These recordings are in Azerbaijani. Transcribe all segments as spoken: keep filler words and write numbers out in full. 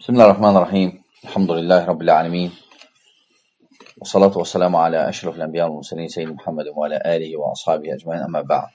Bismillahirrahmanirrahim. Elhamdülillahi Rabbil alemin. Və salatu və selamu alə əşrafil ənbiya və mursalin seyyid Muhammedin və alə alihi və ashabihi ecmaîn, əmmə ba'd.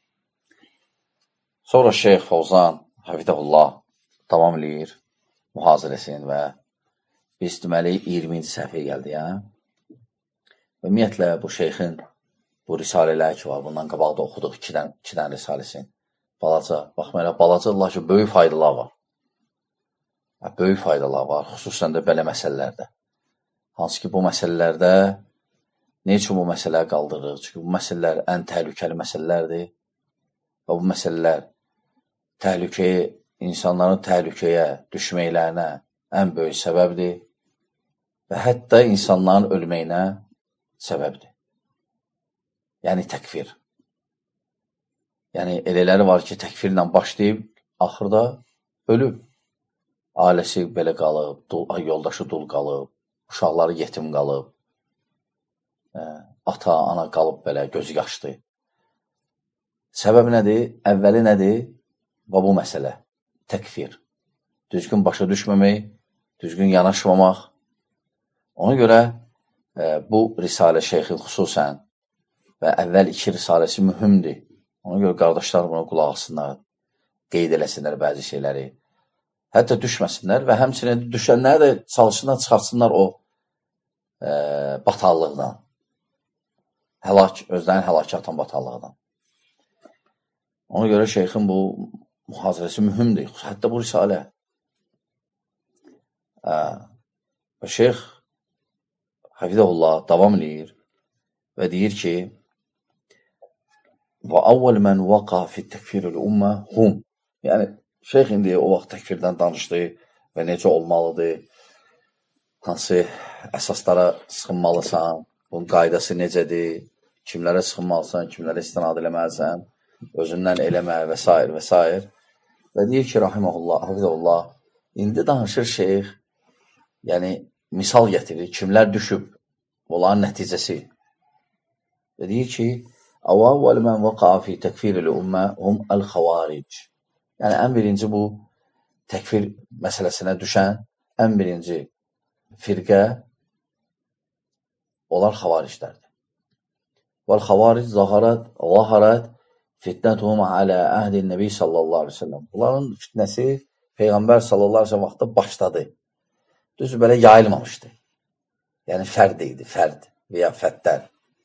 Sonra Şeyx Fovzan hafizəhullah davam eləyir mühazirəsini və biz deməli iyirminci səhifəyə gəldik, hə? Və ümumiyyətlə bu şeyxin bu risalələri ki var, bundan qabaqda oxuduq iki dən, iki dən risaləsini. Balaca, baxmayaraq balaca Allah ki, böyük faydalar var. Böyük faydalar var, xüsusən də belə məsələlərdə. Hansı ki, bu məsələlərdə nə üçün bu məsələləri qaldırırıq? Çünki bu məsələlər ən təhlükəli məsələlərdir və bu məsələlər təhlükəyə, insanların təhlükəyə düşməklərinə ən böyük səbəbdir və hətta insanların ölməyinə səbəbdir. Yəni təkfir. Yəni elələri var ki, təkfirlə başlayıb, axırda ölüb. Ailəsi belə qalıb, dul, yoldaşı dul qalıb, uşaqları yetim qalıb, ə, ata, ana qalıb belə, gözü yaşlı. Səbəb nədir? Əvvəli nədir? Və bu məsələ, təkfir. Düzgün başa düşməmək, düzgün yanaşmamaq. Ona görə ə, bu risalə şeyxin xüsusən və əvvəl iki risaləsi mühümdir. Ona görə qardaşlar buna qulaq asınlar, qeyd eləsinlər bəzi şeyləri. Hətta düşməsinlər və həmçinin düşənləri də çalışsınlar, çıxartsınlar o e, batallıqdan. Həlak, özlərini həlakə atan batallıqdan. Ona görə şeyxin bu mühazirəsi mühümdir. Hətta bu risalə. E, və şeyx hafizəhullah davam eləyir və deyir ki və əvvəl mən vaqa fi təkfirül ümmə hum. Yəni, şeyx indi o vaxt təkfirdən danışdı və necə olmalıdır, hansı əsaslara sıxınmalısan, bunun qaydası necədir, kimlərə sıxınmalısan, kimlərə istinad eləməlisən, özündən eləmə və s. və s. Və deyir ki, rahiməhullah, hafizəhullah, indi danışır şeyx, yəni misal gətirir, kimlər düşüb, onların nəticəsi. Və deyir ki, əvvəl mən vəqa fi təkfiril ümmə hum əl-xavaric. Yəni, ən birinci bu təkfir məsələsinə düşən ən birinci firqə onlar xavariclərdir. Vəl-xavaric zaharat, zaharat fitnətuhum alə əhdin nəbi sallallahu aleyhi ve sellem. Bunların fitnəsi Peyğəmbər sallallahu aleyhi ve sellem vaxtda başladı. Düzdür, belə yayılmamışdı. Yəni, fərd idi, fərd və ya fəddər.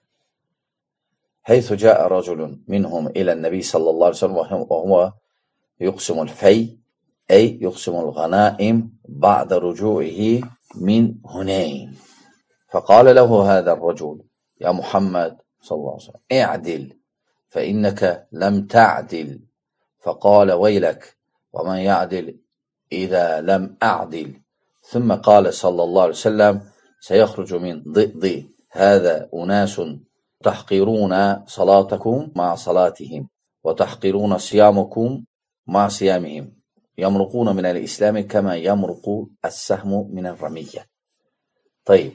Heythu cəə raculun minhum ilən nəbi sallallahu aleyhi ve sellem və huvə يقسم الفي أي يقسم الغنائم بعد رجوعه من هنين فقال له هذا الرجل يا محمد صلى الله عليه وسلم اعدل فإنك لم تعدل فقال ويلك ومن يعدل إذا لم أعدل ثم قال صلى الله عليه وسلم سيخرج من ضئض هذا أناس تحقرون صلاتكم مع صلاتهم وتحقرون صيامكم مع صيامهم يمرقون من الإسلام كما يمرق السهم من الرمية. Tayyib.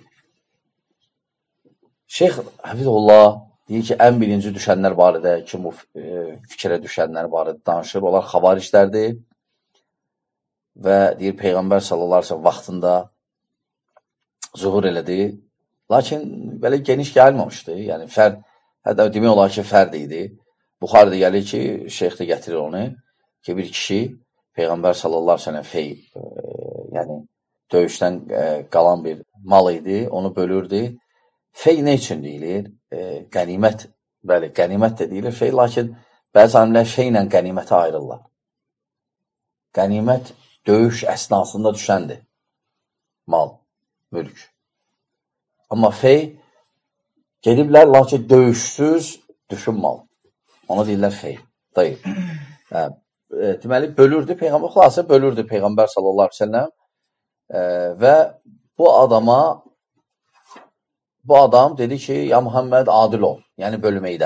Şeyx hafizəhullah deyir ki, ən birinci düşənlər barədə, ki, bu e, fikrə düşənlər barədə danışır. Onlar xavariclərdir və deyir, Peyğəmbər sallallahu aleyhi ve sellem vaxtında zuhur elədi. Lakin belə geniş gəlməmişdi. Yəni, fərd, hətta demək olar ki, fərd idi. Buxarıda gəlir ki, şeyx də gətirir onu. Ki, bir kişi Peyğəmbər sallallahu aleyhi ve sellem fey, e, yəni döyüşdən e, qalan bir mal idi, onu bölürdü. Fey nə üçün deyilir? E, qənimət, bəli, qənimət də deyilir fey, lakin bəzi alimlər feylə qənimətə ayrırlar. Qənimət döyüş əsnasında düşəndir. Mal, mülk. Amma fey gediblər, lakin döyüşsüz düşün mal. Ona deyirlər fey. Dayıb. Hə. Deməli, bölürdü, Peyğəmbər xülasə bölürdü Peyğəmbər sallallahu aleyhi ve sellem e, və bu adama bu adam dedi ki, ya Muhammed adil ol, yəni bölməkdə.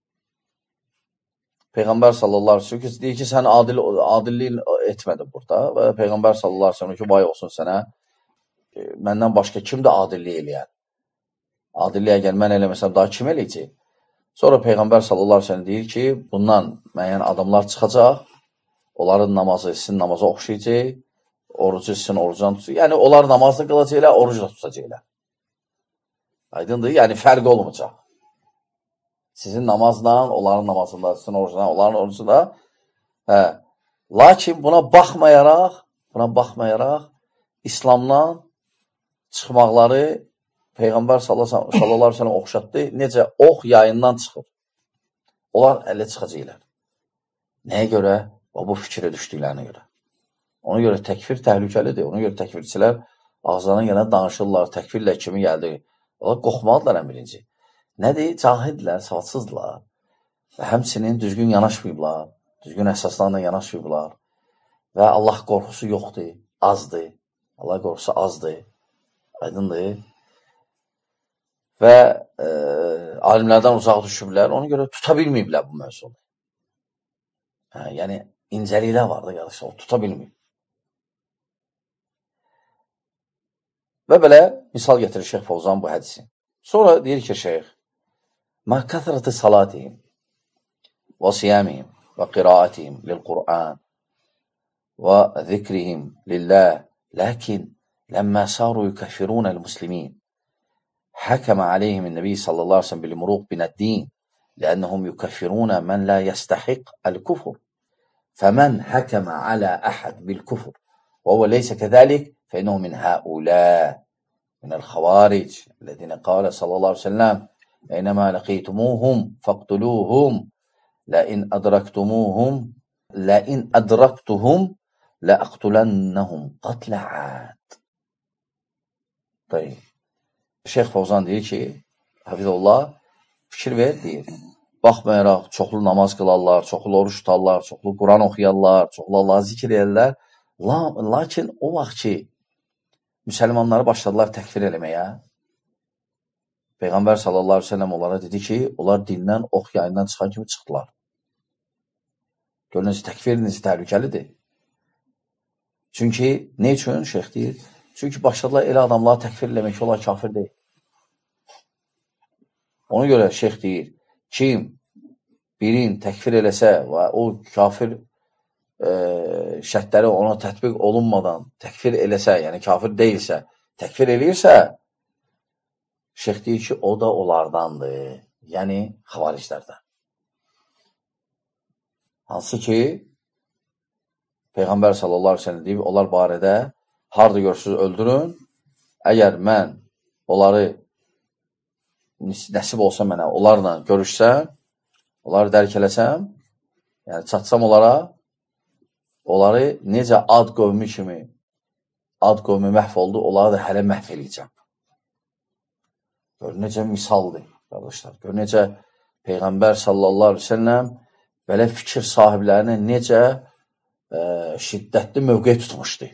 Peyğəmbər sallallahu aleyhi ve sellem deyir ki, sən adil, adilliyin etmədin burada və Peyğəmbər sallallahu aleyhi ve sellem ki, vay olsun sənə, e, məndən başqa kimdir adillik eləyən? Adilliyə gəl, mən eləməsəm daha kim eləyəcək? Sonra Peyğəmbər sallallahu aleyhi ve sellem deyir ki, bundan müəyyən adamlar çıxacaq, onların namazı sizin namaza oxşayacaq, orucu sizin orucdan tutacaq. Yəni, onlar namazda qılacaqlar, orucu da tutacaqlar. Aydındır, yəni fərq olmayacaq. Sizin namazla, onların namazında, sizin orucuna, onların orucunda. Hə. Lakin buna baxmayaraq, buna baxmayaraq, İslamdan çıxmaqları Peyğəmbər sallallahu aleyhi ve sellem oxşatdı. Necə ox yayından çıxır. Onlar ələ çıxacaqlar. Nəyə görə? O, bu fikrə düşdüklərinə görə. Ona görə təkfir təhlükəlidir. Ona görə təkfirçilər ağızlarına gələn danışırlar. Təkfirlə kimi gəldi. Onlar qorxmalıdırlar ən birinci. Nədir? Cahildirlər, savadsızdırlar. Və həmçinin düzgün yanaşmayıblar. Düzgün əsaslarla yanaşmayıblar. Və Allah qorxusu yoxdur, azdır. Allah qorxusu azdır. Aydındır. Və e, alimlərdən uzaq düşüblər. Ona görə tuta bilməyiblər bu mövzunu. Hə, yəni, incəliklər var da, qardaşlar, o tuta bilməyib. Və belə misal getirir Şeyx Fovzan bu hədisi. Sonra deyir ki, Şeyx, mə kəthərəti salatihim və siyamihim və qiraatihim lil-Qur'an və zikrihim lillah, lakin ləmmə saru yukəffirun el-muslimin حكم عليهم النبي صلى الله عليه وسلم بالمروق من الدين لأنهم يكفرون من لا يستحق الكفر فمن حكم على أحد بالكفر وهو ليس كذلك فإنه من هؤلاء من الخوارج الذين قال صلى الله عليه وسلم أينما لقيتموهم فاقتلوهم لئن أدركتموهم لئن أدركتهم لأقتلنهم قتل عاد. طيب. Şeyx Fovzan deyir ki, Hafizullah, fikir ver, deyir. Baxmayaraq, çoxlu namaz qılarlar, çoxlu oruç tutarlar, çoxlu Quran oxuyarlar, çoxlu Allah'ı zikr edirlər. La, lakin o vaxt ki, müsəlmanları başladılar təkfir eləməyə, Peyğəmbər sallallahu aleyhi ve sellem onlara dedi ki, onlar dindən, ox yayından çıxan kimi çıxdılar. Görünüz, təkfir necə təhlükəlidir. Çünki, ne üçün şeyx deyir? Çünki başladılar elə adamları təkfir eləmək ki, onlar kafir deyil. Ona görə şeyx deyir, kim birin təkfir eləsə və o kafir e, şərtləri ona tətbiq olunmadan təkfir eləsə, yəni kafir deyilsə, təkfir eləyirsə, şeyx deyir ki, o da onlardandır. Yəni, xavariclərdən. Hansı ki, Peyğəmbər sallallahu aleyhi ve sellem deyib, onlar barədə harada görürsünüz, öldürün. Əgər mən onları nəsib olsa mənə, onlarla görüşsəm, onları dərk eləsəm, yəni çatsam onlara, onları necə ad qövmü kimi, ad qövmü məhv oldu, onları da hələ məhv eləyəcəm. Gör, necə misaldır, qardaşlar. Gör, necə Peyğəmbər sallallahu aleyhi ve sellem belə fikir sahiblərinə necə e, şiddətli mövqe tutmuşdu.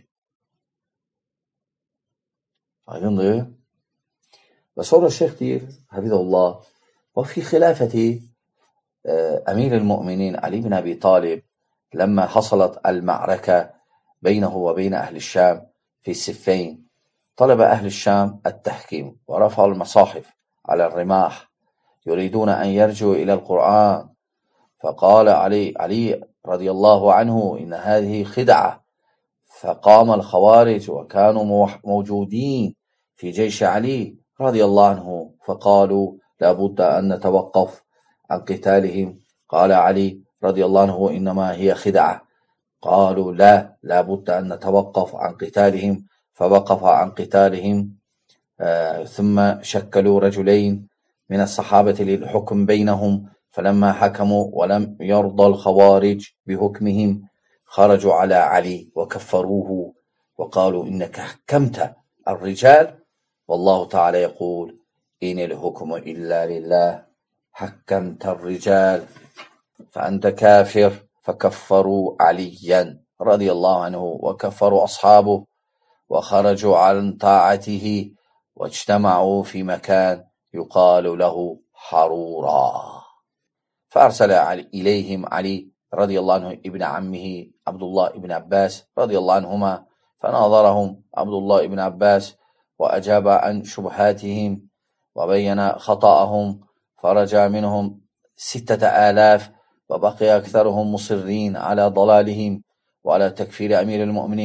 Aydındır. Və sonra şeyx deyir, Hafizullah, və fi xilafəti əmir el-mu'minin Ali bin Abi Talib ləmmə hasalat el-ma'rəkə beynəhu və beynə əhl-Şam fi siffeyn طلب أهل الشام التحكيم ورفعوا المصاحف على الرماح يريدون أن يرجعوا إلى القرآن فقال علي علي رضي الله عنه إن هذه خدعة فقام الخوارج وكانوا موجودين في جيش علي رضي الله عنه فقالوا لابد أن نتوقف عن قتالهم قال علي رضي الله عنه إنما هي خدعة قالوا لا لابد أن نتوقف عن قتالهم فوقف عن قتالهم آه ثم شكلوا رجلين من الصحابة للحكم بينهم فلما حكموا ولم يرضى الخوارج بحكمهم خرجوا على علي وكفروه وقالوا إنك حكمت الرجال والله تعالى يقول إن الحكم إلا لله حكمت الرجال فأنت كافر فكفروا عليا رضي الله عنه وكفروا أصحابه وخرجوا عن طاعته واجتمعوا في مكان يقال له حرورا فأرسل إليهم علي رضي الله عنه ابن عمه عبد الله ابن عباس رضي الله عنهما فناظرهم عبد الله ابن عباس وأجاب عن شبهاتهم وبين خطأهم فرجع منهم ستة آلاف وبقي أكثرهم مصرين على ضلالهم وعلى تكفير أمير المؤمنين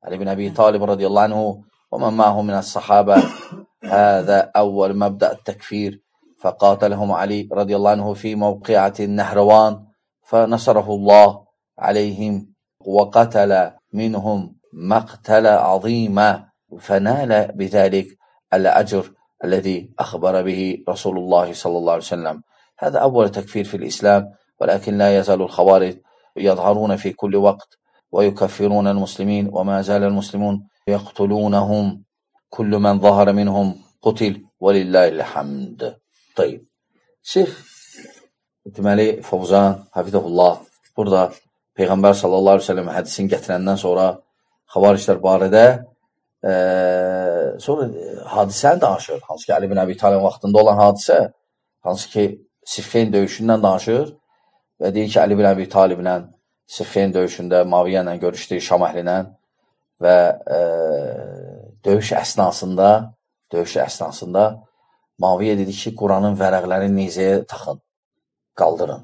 علي بن أبي طالب رضي الله عنه ومن معه من الصحابة هذا أول مبدأ التكفير، فقاتلهم علي رضي الله عنه في موقعة النهروان فنصره الله عليهم وقتل منهم مقتل عظيما، فنال بذلك الأجر الذي أخبر به رسول الله صلى الله عليه وسلم. هذا أول تكفير في الإسلام، ولكن لا يزال الخوارج يظهرون في كل وقت ويكفرون المسلمين، وما زال المسلمون يقتلونهم، كل من ظهر منهم قتل ولله الحمد. طيب, Şeyh deməli Fovzan Hafizəhullah burada Peyğəmbər sallallahu aleyhi ve sellem hədisini gətirəndən sonra xavariclər barədə e, sonra hadisəni danışır. Hansı ki Ali bin Əbi Talib vaxtında olan hadisə, hansı ki Siffin döyüşündən danışır və deyir ki Ali bin Əbi Taliblə Siffin döyüşündə Muaviyyə ilə görüşdü, Şam əhlinə və e, döyüş əsnasında döyüş əsnasında Muaviyyə dedi ki, Quranın vərəqlərini nizəyə taxın, qaldırın.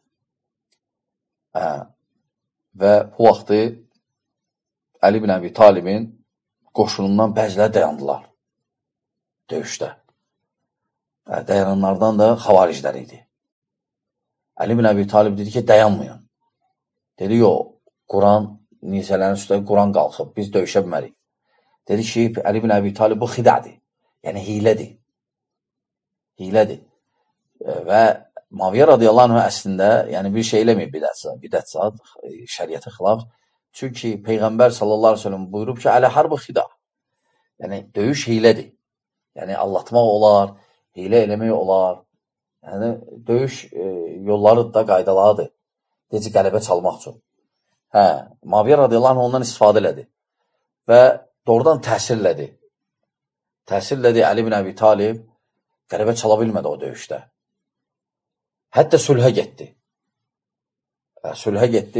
Hə. Və bu vaxtı Ali bin Əbi Talibin qoşunundan bəziləri dayandılar döyüşdə. Hə, dayananlardan da xavariclər idi. Ali bin Əbi Talib dedi ki, dayanmayın. Dedi, yox, Quran nizələrin üstə Quran qalxıb, biz döyüşə bilmərik. Dedi ki, Ali bin Əbi Talib bu xidədir, yəni hilədir. Hilədir. Və Muaviyyə radiyallahu anh əslində yəni bir şey eləməyib bidət saat, şəriyyətə xilaf. Çünki Peyğəmbər sallallahu aleyhi ve sellem buyurub ki, ələ harbı xida. Yəni döyüş hilədir. Yəni allatmaq olar, hilə eləmək olar. Yəni döyüş e, yolları da qaydalarıdır. Necə qələbə çalmaq üçün. Hə, Muaviyyə radiyallahu anh ondan istifadə elədi. Və doğrudan təsirlədi. Təsirlədi Ali bin Əbi Talib qələbə çala bilmədi o döyüşdə. Hətta sülhə getdi. Sülhə getdi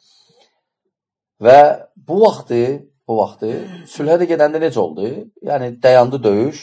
və bu vaxtı, bu vaxtı sülhə də gedəndə necə oldu? Yəni dayandı döyüş.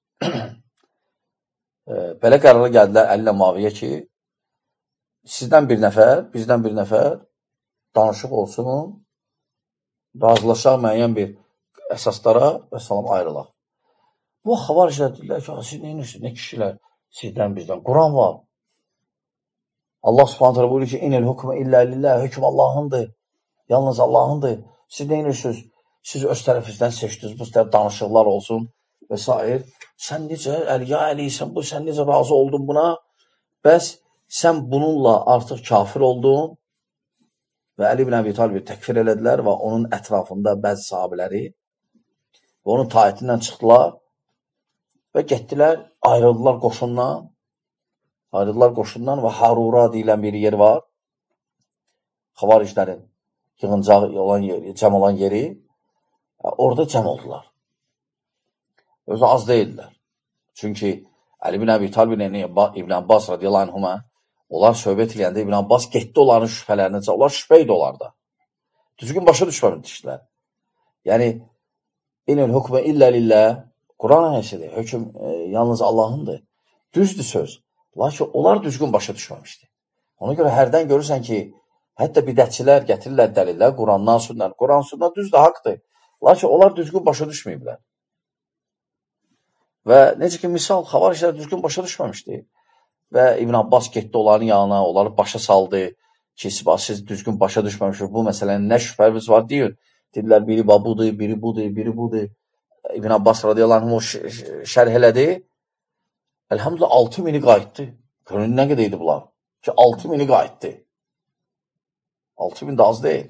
Belə qərara gəldilər Əli ilə Muaviyyə ki, sizdən bir nəfər, bizdən bir nəfər danışıq olsun, razılaşaq müəyyən bir əsaslara və salam ayrılaq. Bu xavariclər deyirlər ki, siz neyinirsiniz, nə kişilər sizdən bizdən? Quran var. Allah subhanət hələ buyurur ki, inil hükmü illə lillah, hökm Allahındır, yalnız Allahındır. Siz neyinirsiniz? Siz öz tərəfinizdən seçdiniz, bu tərəf danışıqlar olsun və s. Sən necə, Əliyə Əliysən, bu, sən necə razı oldun buna? Bəs sən bununla artıq kafir oldun və Əli bin Əbi Talibi təkfir elədilər və onun ətrafında bəzi sahabiləri və onun taatindən çıxdılar və getdilər, ayrıldılar qoşundan, ayrıldılar qoşundan və Harura deyilən bir yer var. Xavariclərin yığıncağı olan yeri, cəm olan yeri, orada cəm oldular. Özü az deyildilər. Çünki Əli bin Əbi Talib İbn Abbas radiyallahu anhuma onlar söhbət eləyəndə İbn Abbas getdi onların şübhələrinə, onlar şübhə idi onlarda. Düzgün başa düşməmişdilər. Yəni, inil hükmə illə lillah, Quran ayəsidir, hökm e, yalnız Allahındır. Düzdür söz. Lakin onlar düzgün başa düşməmişdi. Ona görə hərdən görürsən ki, hətta bidətçilər gətirirlər dəlillər, Qurandan sünnən. Quran sünnən düzdür, haqdır. Lakin onlar düzgün başa düşməyiblər. Və necə ki, misal, xavariclər düzgün başa düşməmişdi. Və İbn Abbas getdi onların yanına, onları başa saldı ki, siz düzgün başa düşməmişsiniz. Bu məsələnin nə şübhəmiz var deyin. Dedilər, biri budur, biri budur, biri budur. İbn Abbas radiyallahu anh o şərh elədi. Elhamdülillah altı mini qayıtdı. Görün nə qədər idi bunlar? Ki altı mini qayıtdı. altı min də az deyil.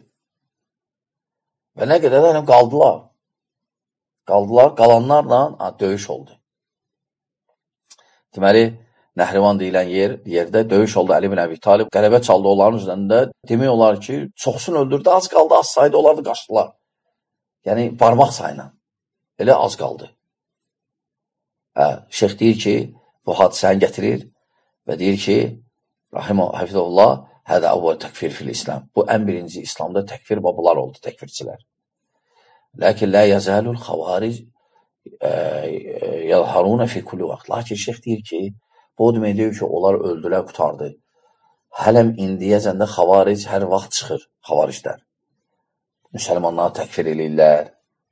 Və nə qədər də qaldılar. Qaldılar, qalanlarla ha, döyüş oldu. Deməli, Nəhrivan deyilən yer, yerdə döyüş oldu Əli bin Əbi Talib. Qələbə çaldı onların üzərində. Demək olar ki, çoxsunu öldürdü, az qaldı, az saydı, onları da qaçdılar. Yəni, barmaq sayına. Elə az qaldı. Hə, şeyx deyir ki, bu hadisəni gətirir və deyir ki, Rahimə Hafizullah, hədə əvvəl təkfir fil İslam. Bu, ən birinci İslamda təkfir babalar oldu, təkfirçilər. Lakin la yazalul xavaric yəlharuna fi kulli vaxt. Lakin şeyx deyir ki, bu demək deyir ki, onlar öldülər, qutardı. Hələm indiyəcəndə xavaric hər vaxt çıxır, xavariclər. müsəlmanları təkfir edirlər.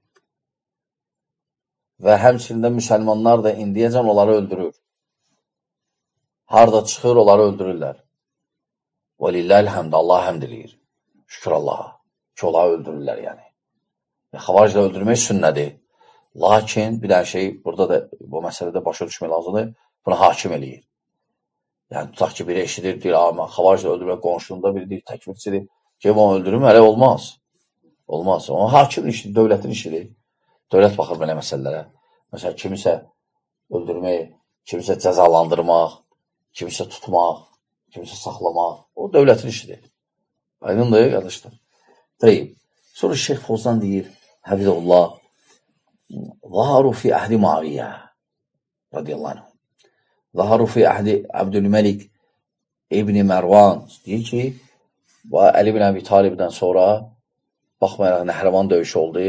Və həmçində müsəlmanlar da indiyəcən onları öldürür. Harada çıxır, onları öldürürlər. Və lilləhil həmdə, Allah həmd eləyir. Şükür Allaha ki, onları öldürürlər yəni. Xavariclə öldürmək sünnədir. Lakin bir dənə şey, burada da bu məsələdə başa düşmək lazımdır, buna hakim eləyir. Yəni, tutaq ki, biri eşidir, deyir, amma xavariclə öldürmək qonşuluğunda biri deyir, təkvirçidir, ki, onu öldürüm, hələ olmaz. Olmaz. O, hakimin işidir, dövlətin işidir. Dövlət baxır belə məsələlərə. Məsələn, kimisə öldürmək, kimisə cəzalandırmaq, kimisə tutmaq, kimisə saxlamaq, o dövlətin işidir. Aydındır, qardaşlar. Deyib. Sonra Şeyx Fozan deyir, Həfizullah, Zaharu fi əhdi Muaviyyə, radiyallahu anh. Zaharu fi əhdi Abdülməlik İbni Mərvan, deyir ki, Əli ibn Əbi Talibdən sonra, baxmayaraq Nəhrəvan döyüşü oldu,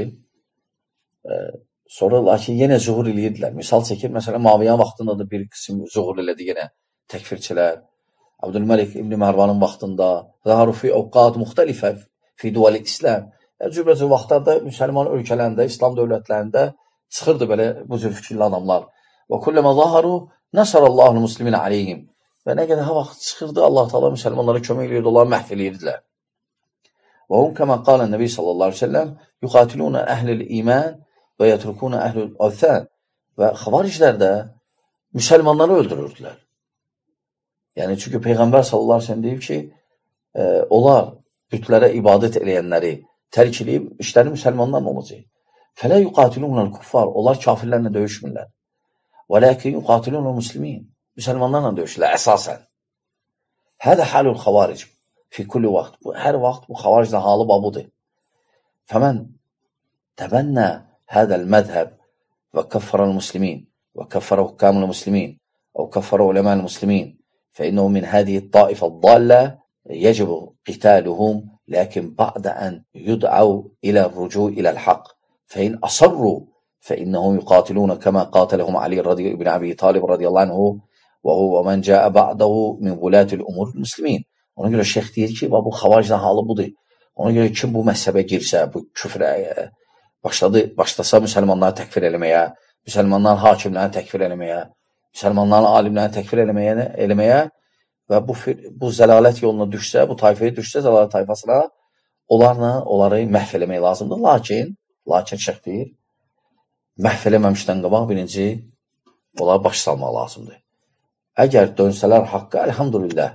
sonra lakin yenə zuhur eləyirdilər. Misal çəkir, məsələn, Muaviyyə vaxtında da bir qism zuhur elədi yenə təkfirçilər. Abdülməlik İbni Mərvanın vaxtında, Zaharu fi ovqat müxtəlifə fi duvalı İslam. Cürbəcə vaxtlarda müsəlman ölkələrində, İslam dövlətlərində çıxırdı belə bu cür fikirli adamlar. Və kulləmə zaharu nəsərəllahul muslimin aleyhim. Və nə qədər vaxt çıxırdı, Allah Teala müsəlmanlara kömək edirdi, onları məhv edirdilər. Və hum kəmə qalə Nəbi sallallahu aleyhi ve sellem yuqatilunə əhlil iman və yətrukunə əhlil əvthən. Və xavariclər də müsəlmanları öldürürdülər. Yəni, çünki Peyğəmbər sallallahu aleyhi ve sellem deyib ki, e, onlar bütlərə ibadət eləyənləri tərk edib, işləri müsəlmanlarla olacaq. Fələ yuqatilunəl kuffar, onlar kafirlərlə döyüşmürlər. Və ləkin yuqatilunəl muslimin, müsəlmanlarla döyüşürlər əsasən. Hədə halul xavaric fi kulli vaxt. Hər vaxt bu xavariclə halı babudur. Fəmən təbənnə hədəl mədhəb və kəffərəl muslimin və kəffərə hukkamul muslimin və kəffərə uləməl muslimin fəinnəhu min hədiyi taifə dallə يجب قتالهم لكن بعد أن يدعوا إلى الرجوع إلى الحق فإن أصروا فإنهم يقاتلون كما قاتلهم علي رضي بن أبي طالب رضي الله عنه وهو من جاء بعده من ولاة الأمور المسلمين. Ona görə şeyx deyir ki, bu xavaricdən halı budur. Ona görə kim bu məhzəbə girsə, bu küfrə başladı, başlasa müsəlmanları təkfir eləməyə, müsəlmanların hakimlərini təkfir eləməyə, müsəlmanların alimlərini təkfir eləməyə, eləməyə və bu, bu zəlalət yoluna düşsə, bu tayfaya düşsə, zəlalət tayfasına, onlarla onları məhv eləmək lazımdır. Lakin, lakin şeyx deyir, məhv eləməmişdən qabaq birinci, onları baş salmaq lazımdır. Əgər dönsələr haqqa, əlhamdülillah.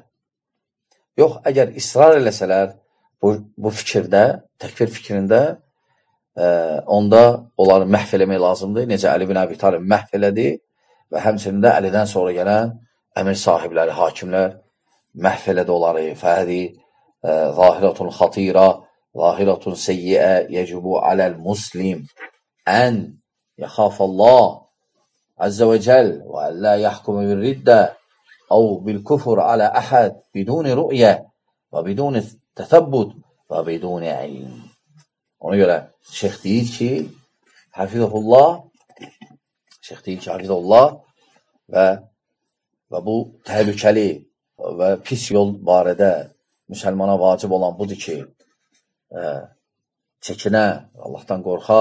Yox, əgər israr eləsələr bu, bu fikirdə, təkfir fikrində, e, onda onları məhv eləmək lazımdır. Necə Əli ibn Əbi Talib məhv elədi və həmçində Əlidən sonra gələn əmir sahibləri, hakimlər məhv elədi onları. Fəhədi, zahiratun xatira, zahiratun seyyiə, yəcibu aləl muslim, ən yəxafəllah əzzə və cəl və əllə yəhkumu bir riddə əv bil küfur alə əhəd biduni rü'yə və biduni tətəbbut və biduni ilm. Ona görə şeyx deyir ki, hafizəhullah, şeyx deyir ki, hafizəhullah və və bu təhlükəli və pis yol barədə müsəlmana vacib olan budur ki, e, çəkinə, Allahdan qorxa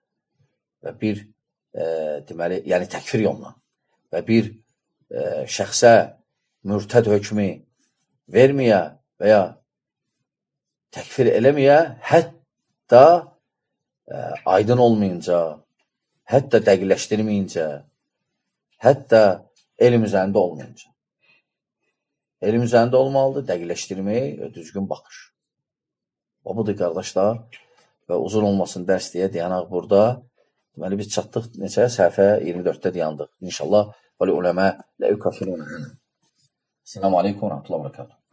və bir, e, deməli, yəni təkfir yoluna və bir e, şəxsə mürtəd hökmü verməyə və ya təkfir eləməyə, hətta e, aydın olmayınca, hətta dəqiqləşdirməyincə, hətta elm üzərində olmayınca. Elm üzərində olmalıdır, dəqiqləşdirmək və düzgün baxış. O budur, qardaşlar, və uzun olmasın dərs deyə dayanaq burada. Deməli, biz çatdıq neçə? Səhifə iyirmi dörddə dayandıq. İnşallah, vəli uləmə lə yukafirunə. Selamun aleykum və rəhmətullah və bərəkatuhu.